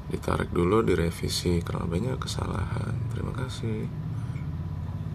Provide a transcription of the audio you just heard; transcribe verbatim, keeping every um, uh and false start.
ditarik dulu, direvisi karena banyak kesalahan. Terima kasih.